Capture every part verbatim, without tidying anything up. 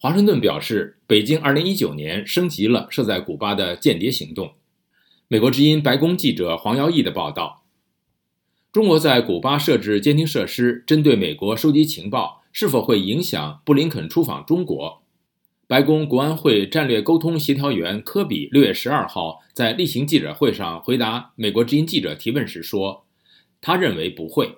华盛顿表示，北京二零一九年升级了设在古巴的间谍行动。美国之音白宫记者黄耀义的报道，中国在古巴设置监听设施，针对美国收集情报，是否会影响布林肯出访中国？白宫国安会战略沟通协调员科比六月十二号在例行记者会上回答美国之音记者提问时说，他认为不会。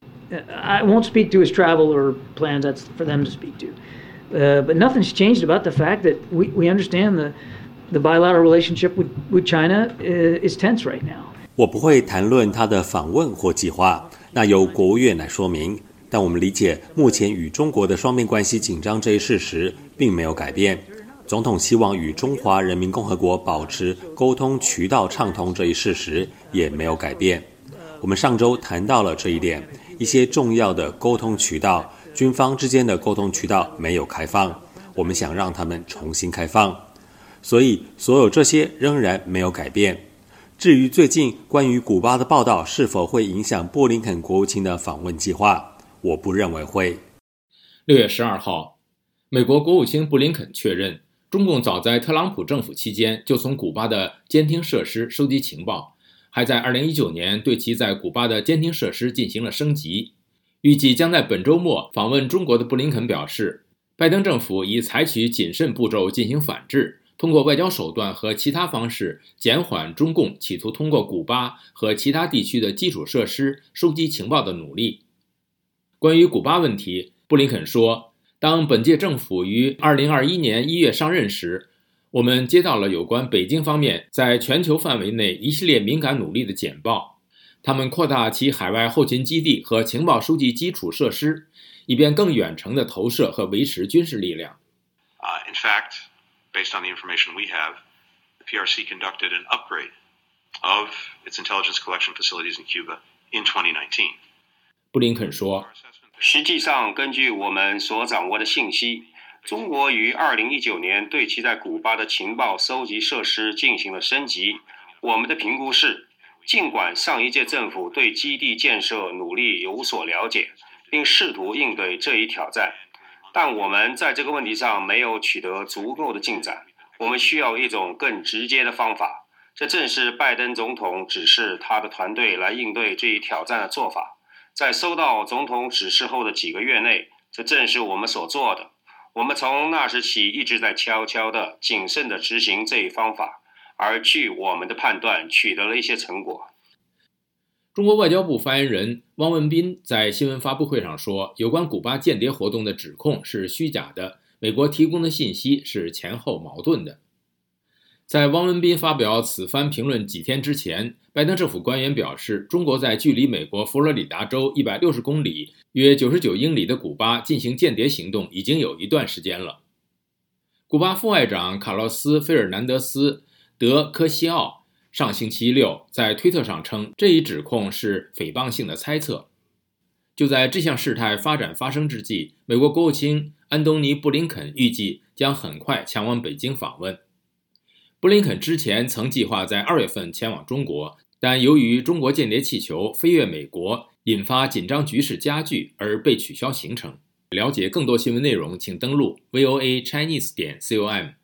I won't speak to his travel or plans. That's for them to speak to. Uh, but nothing's changed about the fact that we, we understand the, the bilateral relationship with, with China is tense right now. 我不会谈论他的访问或计划，那由国务院来说明。但我们理解，目前与中国的双边关系紧张这一事实并没有改变。总统希望与中华人民共和国保持沟通渠道畅通这一事实也没有改变。我们上周谈到了这一点，一些重要的沟通渠道，军方之间的沟通渠道没有开放，我们想让他们重新开放。所以，所有这些仍然没有改变。至于最近关于古巴的报道是否会影响布林肯国务卿的访问计划，我不认为会。 六月十二号，美国国务卿布林肯确认，中共早在特朗普政府期间就从古巴的监听设施收集情报，还在二零一九年对其在古巴的监听设施进行了升级。预计将在本周末访问中国的布林肯表示，拜登政府已采取谨慎步骤进行反制，通过外交手段和其他方式减缓中共企图通过古巴和其他地区的基础设施收集情报的努力。关于古巴问题，布林肯说，当本届政府于二零二一年一月上任时，我们接到了有关北京方面在全球范围内一系列敏感努力的简报，他们扩大其海外后勤基地和情报收集基础设施，以便更远程地投射和维持军事力量。 Uh, in fact, based on the information we have, the P R C conducted an upgrade of its intelligence collection facilities in Cuba in twenty nineteen. 布林肯说， 实际上，根据我们所掌握的信息，中国于二零一九年对其在古巴的情报收集设施进行了升级。我们的评估是，尽管上一届政府对基地建设努力有所了解，并试图应对这一挑战，但我们在这个问题上没有取得足够的进展。我们需要一种更直接的方法，这正是拜登总统指示他的团队来应对这一挑战的做法。在收到总统指示后的几个月内，这正是我们所做的。我们从那时起一直在悄悄地、谨慎地执行这一方法，而据我们的判断，取得了一些成果。 中国外交部发言人汪文斌在新闻发布会上说，有关古巴间谍活动的指控是虚假的，美国提供的信息是前后矛盾的。在汪文斌发表此番评论几天之前，拜登政府官员表示，中国在距离美国佛罗里达州一百六十公里约九十九英里的古巴进行间谍行动已经有一段时间了。古巴副外长卡洛斯·费尔南德斯·德科西奥上星期六在推特上称，这一指控是诽谤性的猜测。就在这项事态发展发生之际，美国国务卿安东尼·布林肯预计将很快前往北京访问。布林肯之前曾计划在二月份前往中国，但由于中国间谍气球飞越美国，引发紧张局势加剧而被取消行程。了解更多新闻内容，请登录 V O A Chinese 点 com。